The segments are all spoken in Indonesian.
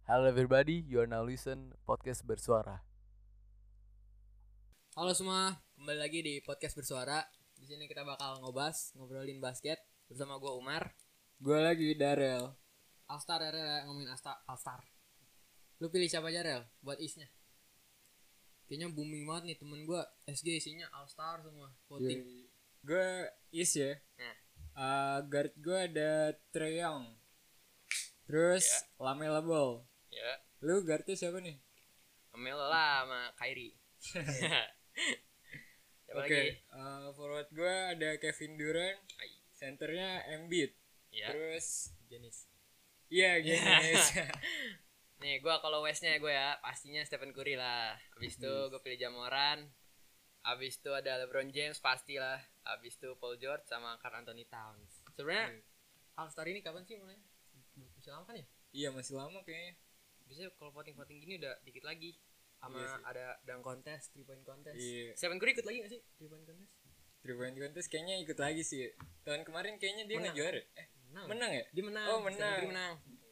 Hello everybody, you are now listen podcast bersuara. Halo semua, kembali lagi di podcast bersuara. Di sini kita bakal ngobrolin basket bersama gue Umar. Gue lagi Darel. Alstar ya, Rel, ngomongin Alstar. Lu pilih siapa aja Rel buat isnya? Kayaknya booming banget nih temen gue SG isinya Alstar semua voting. Gue is ya. Guard gue ada Trae Young. Terus Lamelo Ball. Ya. Lu guardnya siapa nih? Amel lah sama Kyrie. Siapa Oke, lagi? forward gue ada Kevin Durant. Centernya Embiid. Ya. Terus Jenis. iya Giannis. Nih gue kalau Westnya gue ya pastinya Stephen Curry lah. Abis itu gue pilih Jamoran. Abis itu ada LeBron James pastilah. Abis itu Paul George sama Karl Anthony Towns. Sebenarnya All-Star ini kapan sih mulai? Masih lama kan ya? Iya masih lama kayaknya. Biasanya kalau voting gini udah dikit lagi. Sama Iya sih. ada dunk contest, 3-point contest. Iya. Stephen Curry ikut lagi gak sih 3-point contest? 3-point contest kayaknya ikut lagi sih. Tahun kemarin kayaknya dia Menang. nggak juara. Menang ya? Dia menang. Oh, Stephen menang. Curry menang.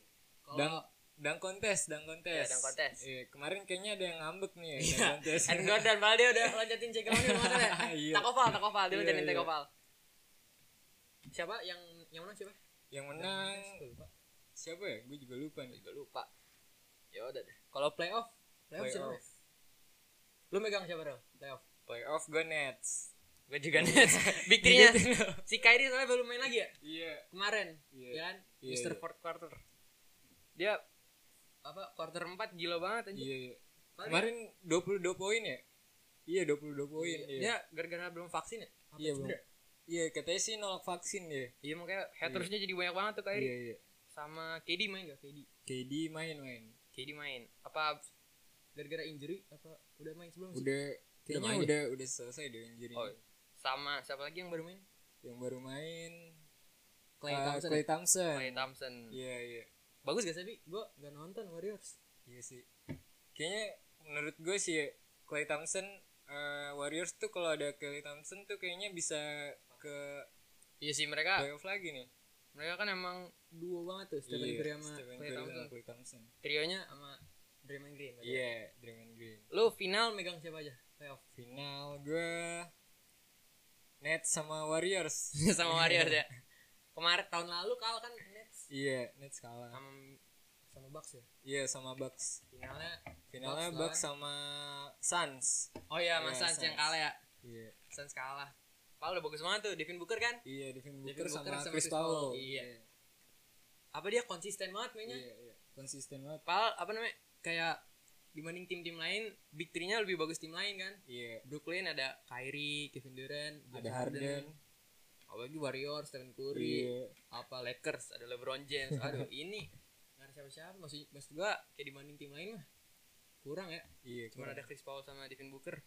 Dunk contest. Ya, dunk contest. Iya, kemarin kayaknya ada yang ngambek nih ya, Iya. dunk contest. And Gordon malah dia udah loncatin cekelan ya. Iya. Tak oval dia Iya, loncatin iya. take oval. Siapa yang menang siapa? Yang menang Gue lupa. siapa ya? Gue juga lupa nih. Juga lupa. Ya udah deh. Kalau playoff siapa? Lu megang siapa Rel? Playoff gue Nets. Gue juga Nets. Big three-nya. Si Kyrie soalnya baru main lagi ya? Iya. Kemarin. Iya. Ya kan? Iya, Mr. iya. Fourth quarter. Dia quarter 4 gila banget anjir. Iya. Kemarin 22 poin ya? Iya 22 poin. Iya. Iya. Dia gara-gara belum vaksin ya? Apa Iya, cedera? Iya, katanya sih nolak vaksin ya. Iya makanya hatersnya jadi banyak banget tuh Kyrie. Iya, iya. Sama KD main gak? KD main. KD main. Apa gara-gara injury? Apa udah main sebelum sih? Udah kayaknya main udah selesai deh injury. Oh, sama siapa lagi yang baru main? Yang baru main Klay Thompson. Klay Thompson. Klay Thompson. Iya, iya. Bagus gak sih, Bi? Gue gak nonton Warriors. Iya sih. Kayaknya menurut gue sih Klay Thompson Warriors tuh kalau ada Klay Thompson tuh kayaknya bisa ke Iya sih mereka playoff lagi nih. kan emang duo banget tuh Stephen Iya, Curry sama Stephen Klay Curry Thompson. sama Klay Thompson. Trionya sama Draymond Green. Iya, Draymond Green. Lu final megang siapa aja? Playoff. Final gue Nets sama Warriors. Sama Warriors ya. Kemarin tahun lalu kalah kan Nets Iya, Nets kalah. sama Bucks ya. Iya, sama Bucks. Finalnya Finalnya Bucks Bucks sama Suns. Oh iya, Mas Iya, Suns yang Suns. kalah ya. Iya. Suns kalah. Paul udah bagus banget tuh, Devin Booker kan? Iya, Devin Devin Booker Booker sama sama Chris Chris Paul. Paul. Iya. Apa dia konsisten banget mainnya? Iya. Konsisten banget. Paul apa namanya? Kayak dibanding tim-tim lain, big three-nya lebih bagus tim lain kan? Iya. Brooklyn ada Kyrie, Kevin Durant, Ada James Harden. apalagi Warriors, Stephen Curry, Iya. apa Lakers ada LeBron James. Aduh, ini nggak ada siapa-siapa. Maksud gua kayak dibanding tim lain mah kurang ya. Iya, Cuma kurang. ada Chris Paul sama Devin Booker.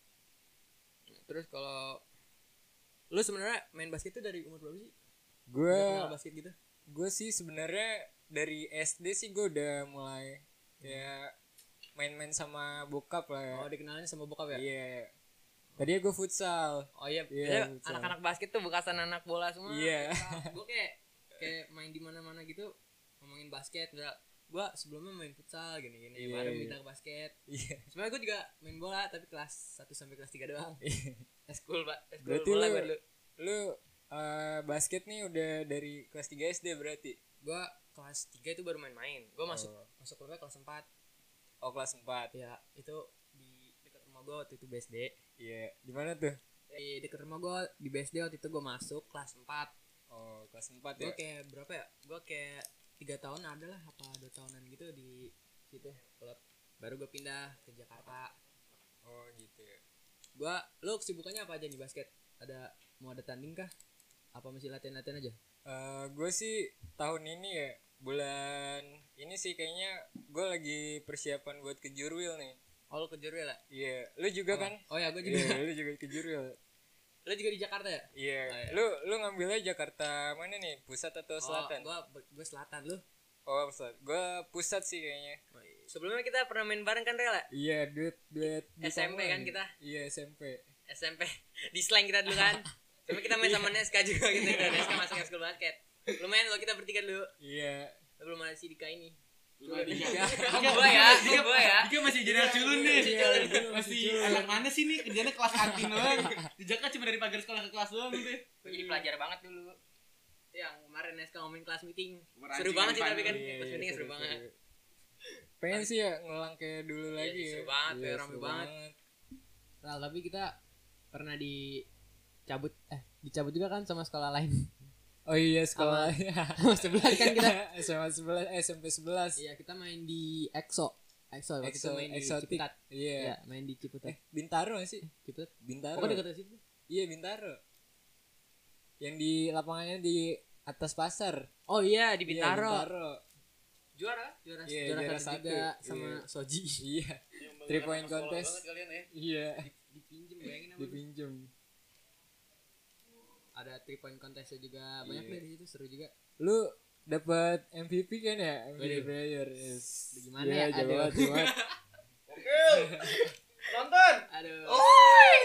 Nah, terus kalau lu sebenarnya main basket tuh dari umur berapa sih? Gue Udah kenal basket gitu? gue sih sebenarnya dari SD sih gue udah mulai kayak main-main sama bokap lah ya. Oh, dikenalnya sama bokap ya? Iya. Tadinya gue futsal. Oh iya, Iya, biasanya betul. anak-anak basket tuh bekasan anak bola semua. Iya. Gue kayak main di mana-mana gitu ngomongin basket. Gue sebelumnya main futsal gini-gini, Iya, baru iya. pindah ke basket. Iya. Sebenarnya gue juga main bola tapi kelas 1 sampai kelas 3 doang. Eskul, Pak. Eskul Berarti bola lu gue dulu. lu basket nih udah dari kelas 3 SD berarti. Gue kelas 3 itu baru main-main. Gue masuk klubnya kelas 4. Oh, kelas 4. Ya, itu di dekat rumah gue waktu itu BSD. Iya. Di mana tuh? Di dekat rumah gue di BSD waktu itu gue masuk kelas 4. Oh, kelas 4 Gue ya. kayak berapa ya? Gue kayak 3 tahun ada lah, apa 2 tahunan gitu di situ klub. Baru gue pindah ke Jakarta. Oh, gitu ya. Lu kesibukannya apa aja nih basket? Mau ada tanding kah? Apa masih latihan-latihan aja? Gue sih tahun ini ya bulan ini sih kayaknya gue lagi persiapan buat ke Jurwil nih. Oh, lu ke Jurwil ya? Iya, lu juga kan? Oh ya, gue juga. Iya, lu juga ke Jurwil. Lu juga di Jakarta ya? Iya. Oh, iya. Lu ngambilnya Jakarta mana nih? Pusat atau selatan? Oh, gue selatan lu. Oh, pusat. Gue pusat sih kayaknya. Sebelumnya kita pernah main bareng kan Rela? Iya, duet SMP kan kita? Iya, SMP. SMP di slang kita dulu kan. Tapi kita main sama Neska juga gitu. Neska masuk school basket. Lumayan lo kita bertiga dulu. Iya. Belum ada si Dika ini. Dika masih jadi anak culun nih. Masih anak mana sih nih? Kerjanya kelas kantin doang. Di Jakarta cuma dari pagar sekolah ke kelas doang gitu. Gue jadi pelajar banget dulu. Yang kemarin SK ngomongin kelas meeting. Merancing Seru banget sih depan. tapi kan Iya, kelas meeting seru seru, banget. seru. Pengen sih ya ngulang kayak dulu Iya, lagi seru ya. banget, Iya, kayak rame seru banget. Nah, tapi kita pernah dicabut juga kan sama sekolah lain. Oh iya sekolah. Sama 11 kan kita. SMA 11 SMP 11. Iya, kita main di EXO waktu itu main di Exotic. Ciputat. Iya. Iya, main di Ciputat. Bintaro gak sih? Ciputat. Bintaro. Pokoknya dekat situ. Iya Bintaro. Yang di lapangannya di atas pasar. Oh iya, di Iya, Bintaro. Juara. Juara Iya, juara satu satu. juga sama Iya. Soji. Iya. 3 point contest. Kalian ya. Iya. Dipinjem bayangin apa? Dipinjem. Ada 3 point contestnya juga banyak Iya. deh di situ, seru juga. Lu dapat MVP kan ya? MVP Waduh. player. Yes. Gimana Iya, ya? jauh Aduh. banget, jauh banget. Nonton. Aduh. Oi.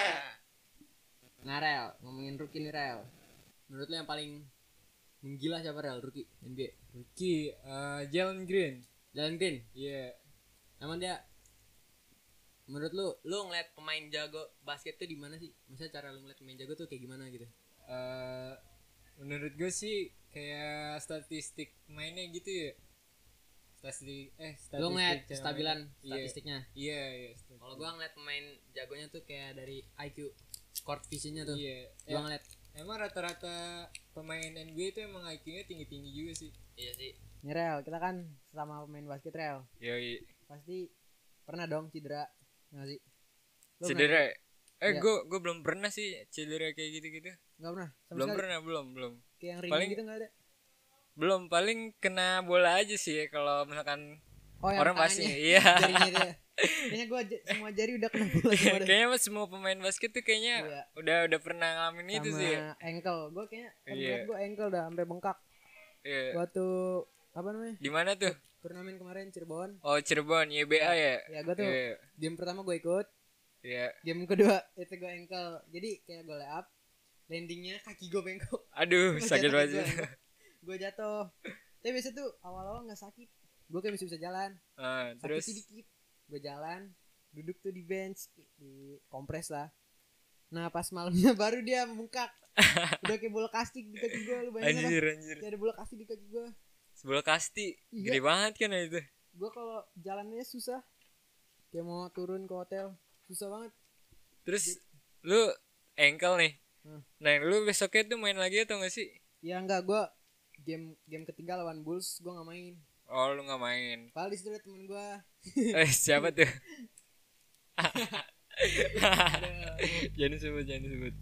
Nah, Rel, ngomongin rookie nih, Rel. Menurut lu yang paling menggila siapa, Rel, rookie NBA? Rookie Jalen Green. Jalen Green. Iya. Emang dia menurut lu Ngeliat pemain jago basket tuh di mana sih? Maksudnya cara lu ngeliat pemain jago tuh kayak gimana gitu? Menurut gue sih kayak statistik mainnya gitu ya. Statistik Lu ngeliat cara stabilan mainnya. statistiknya. Iya, iya. Kalau gua ngeliat pemain Jagonya tuh kayak dari IQ, court visionnya tuh. Iya. Gua ngeliat. Emang rata-rata pemain NBA itu emang IQ-nya tinggi-tinggi juga sih. iya sih. Nih, Rel, kita kan sama pemain basket, Rel. Yoi. Pasti pernah dong cedera, nggak sih? Lu Cedera. Iya. Gue belum pernah sih cedera kayak gitu-gitu. Nggak pernah? Sama Belum sekali? pernah, belum. Kayak yang ring Paling- gitu nggak ada? Belum, paling kena bola aja sih kalau misalkan Oh, yang orang pasti. tangannya. Iya. Jarinya itu ya. Kayaknya gua semua jari udah kena bola semua deh. Kayaknya semua pemain basket tuh kayaknya Iya. udah pernah ngalamin itu Sama sih. Ya. ankle. Gua kayaknya Iya. gua ankle udah sampai bengkak. Iya. Waktu apa namanya? Di mana tuh? Turnamen kemarin Cirebon. Oh, Cirebon, YBA ya. Ya gua tuh Iya. game pertama gua ikut, Iya. game kedua itu gua ankle. Jadi kayak gua lay up, landingnya kaki gua bengkok. Aduh, Gua sakit jatuh, banget. Gua jatuh. Tapi biasa tuh awal-awal nggak sakit. Gua kayak masih bisa jalan. Ah, Sakit terus sedikit. Gue jalan, duduk tuh di bench, di kompres lah. Nah pas malamnya baru dia membengkak. Udah kayak bola kastik di kaki gue. Lu bayangin apa? anjir. Kayak ada bola kastik di kaki gue. Sebelah kasti. Iya. Gede banget kan itu. Gue kalau jalannya susah. Kayak mau turun ke hotel, susah banget. Terus lu ankle nih. Hmm. Nah, lu besoknya tuh main lagi atau enggak sih? Ya enggak, gue game ketiga lawan Bulls gue nggak main. Oh, lu enggak main. Padahal di situ ada temen gue. Siapa tuh? Jangan sebut.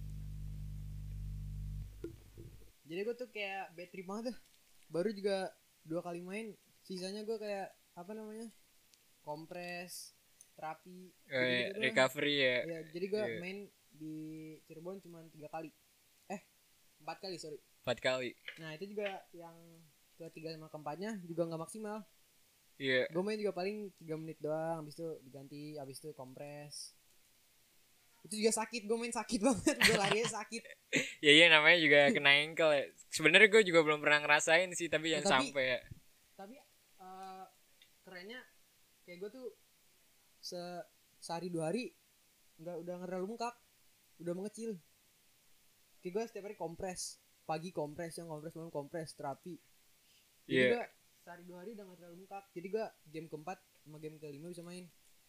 Jadi gue tuh kayak bad trip banget tuh. Baru juga 2 kali main, sisanya gue kayak apa namanya, kompres, terapi, gitu-gitu doang. Recovery ya. Ya, jadi gue Iya. main di Cirebon cuma 3 kali. 4 kali, sorry. 4 kali. Nah, itu juga yang ketiga sama keempatnya juga nggak maksimal. Iya. Gue main juga paling 3 menit doang, habis itu diganti, habis itu kompres. Itu juga sakit, gue main sakit banget, gue larinya sakit. Iya namanya juga kena ankle ya. Sebenarnya gue juga belum pernah ngerasain sih, tapi Ya, jangan tapi- sampai ya. Tapi kerennya kayak gue tuh sehari 2 hari udah nggak terlalu bengkak, udah mengecil. Kayak gue setiap hari kompres, pagi kompres, siang kompres, malam kompres, terapi. Jadi Iya. gue sehari 2 hari udah gak terlalu bengkak. Jadi gue game keempat sama game kelima bisa main.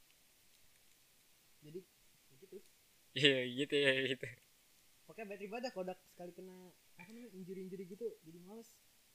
Jadi gitu. Iya gitu ya gitu. Pokoknya bad trip aja kalau udah sekali kena apa namanya injury gitu, jadi males.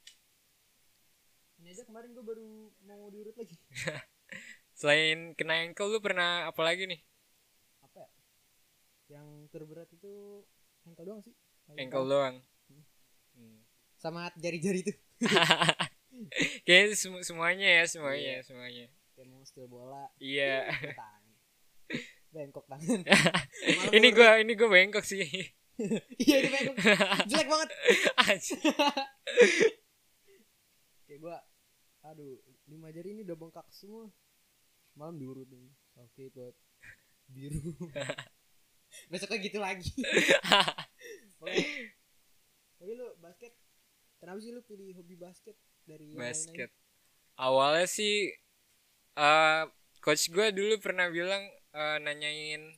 Ini aja kemarin gue baru mau diurut lagi. Selain kena ankle lu pernah apa lagi nih? Apa ya? Yang terberat itu ankle doang sih. Paling Ankle parah. doang. Sama jari-jari itu. Kayaknya semuanya ya, semuanya. Kayak mau steal bola. Iya. Pakai tangan. Bengkok tangan. ini gua bengkok sih. Iya ini bengkok. Jelek banget. Anjir. Kayak gue, aduh, 5 jari ini udah bengkak semua. Malam diurut nih. Oke, ikut biru. Besoknya gitu lagi. Pokoknya, tapi lu basket, kenapa sih lu pilih hobi basket dari yang Basket. Awalnya sih coach gue dulu pernah bilang nanyain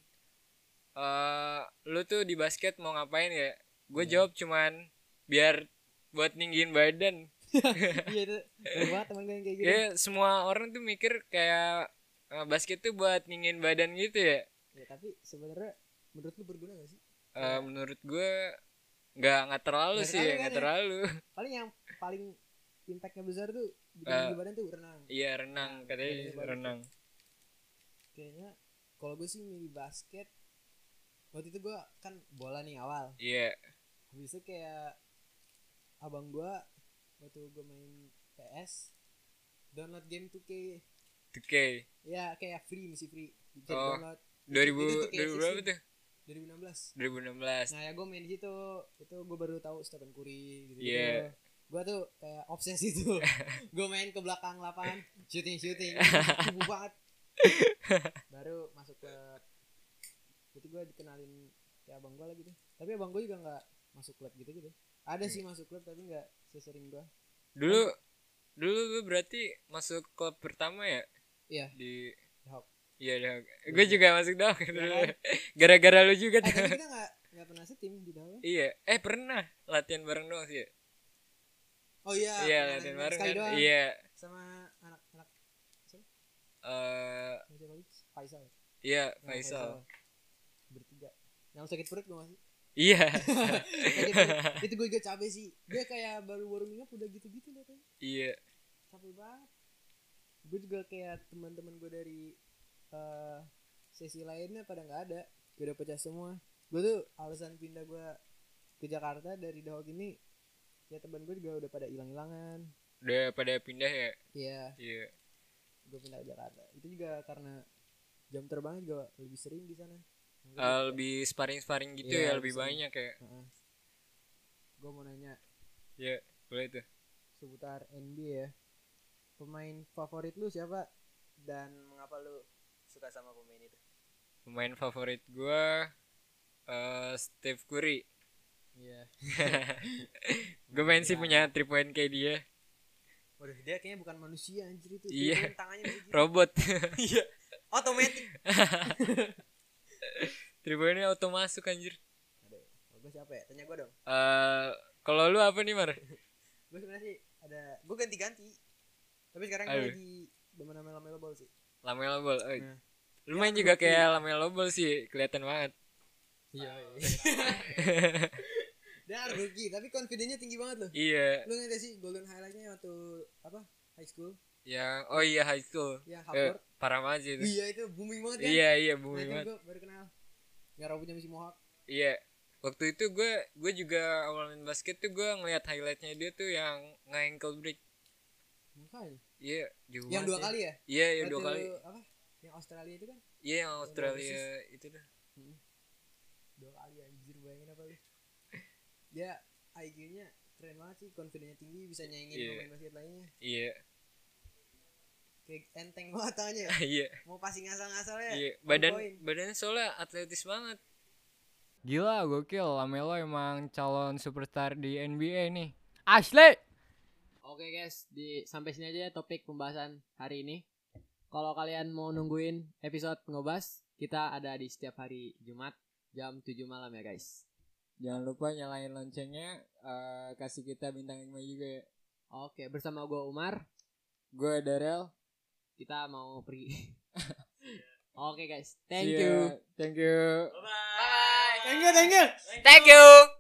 lu tuh di basket mau ngapain ya? Gue jawab cuman biar buat ninggiin badan. Iya itu banyak banget teman gue yang kayak gitu. Kayak semua orang tuh mikir kayak basket tuh buat ninggiin badan gitu ya. Ya tapi sebenarnya menurut lu berguna gak sih? Menurut gue nggak terlalu Nggak sih, terlalu kan nggak ya? terlalu. Paling yang paling impactnya besar tuh bikin tinggi badan tuh renang. Iya renang katanya badannya bagus. renang. Kayaknya kalau gue sih milih basket. Waktu itu gue kan bola nih awal. Iya. Habis itu kayak abang gue waktu gue main PS download game 2K. 2K. Ya kayak masih free. Bisa Oh, download. 2000 Itu 2K16. berapa tuh? 2016. 2016. Nah ya gue main di situ. Itu gue baru tahu Stephen Curry gitu. Iya. Gue tuh kayak obsesi tuh. Gue main ke belakang lapangan, shooting, sibuk banget. Baru masuk klub. Berarti gue dikenalin kayak abang gue lah gitu. Tapi abang gue juga nggak masuk klub gitu. Ada sih masuk klub tapi nggak sesering gue. Dulu lu berarti masuk klub pertama ya? Iya. Di Hawk. Iya dong. Gue juga masuk dong. kan? Gara-gara lu juga tuh. Tapi kita nggak pernah setim di dalam. Iya. Pernah latihan bareng doang sih. Ya? Oh iya. Iya latihan bareng sekali kan. doang. Iya. Sama anak-anak siapa? Siapa lagi? Faisal. Iya Nah, Faisal. Bertiga. Yang sakit perut gue masih. Iya. Itu gue juga capek sih. Dia kayak baru warming up udah gitu-gitu loh kan. Iya. Capek banget. Gue juga kayak teman-teman gue dari sesi lainnya pada nggak ada. Gue udah pecah semua. Gue tuh alasan pindah gue ke Jakarta dari Dahok ini. Ya teman gue juga udah pada hilang-hilangan. Udah pada pindah ya? Iya. Iya. Gue pindah ke Jakarta. Itu juga karena jam terbang juga lebih sering di sana. Lebih sparring gitu Iya, ya, lebih bisa. banyak ya. Gue mau nanya Iya, boleh tuh. seputar NBA ya. Pemain favorit lu siapa dan mengapa lu suka sama pemain itu? Pemain favorit gua Steph Curry. Iya. Gue main sih punya 3 point kayak dia. Waduh, dia kayaknya bukan manusia anjir itu. Iya. Dia tangannya bisa gitu. Robot. Iya. Otomatis. 3 pointnya auto masuk anjir. Aduh, gue siapa ya? Tanya gue dong. Kalau lu apa nih Mar? Gue sebenarnya sih gue ganti-ganti. Tapi sekarang gue Aduh. lagi demen sama Lamelo Ball sih. Lamelo Ball. Nah. Lu main juga kayak Lamelo Ball sih, kelihatan banget. Iya. Dia rookie, tapi confidence-nya tinggi banget loh. Iya. Lu ngerti sih golden highlight-nya waktu apa? High school. Iya high school. Ya, Harvard. Parah banget sih itu. Iya, itu booming banget kan? Iya Nah, booming itu banget. gue baru kenal. Nggak rambutnya masih mohawk. Iya. Waktu itu gue juga awal main basket tuh gue ngeliat highlightnya dia tuh yang nge-ankle break. Makanya. Iya, jauh Yang banget 2 ya. kali ya? Iya, yang 2 Waktu kali. Apa? Yang Australia itu kan? Iya, yang Australia itu dah. 2 kali anjir, bayangin apa lu. Dia IQ-nya keren banget sih, confidence-nya tinggi, bisa nyaingin Iya. pemain basket lainnya. Iya. Kayak enteng banget tangannya. Iya. Mau passing ngasal-ngasal ya. Iya, on point. badannya soalnya atletis banget. Gila, gokil. Lamelo emang calon superstar di NBA nih. Asli. Oke guys, sampai sini aja topik pembahasan hari ini. Kalau kalian mau nungguin episode ngobas, kita ada di setiap hari Jumat jam 7 malam ya guys. Jangan lupa nyalain loncengnya, kasih kita bintang 5 juga ya. Oke, bersama gue Umar, Gue Darel. kita mau pergi. Oke guys, See thank ya. you. Thank you. Thank you. Thank you.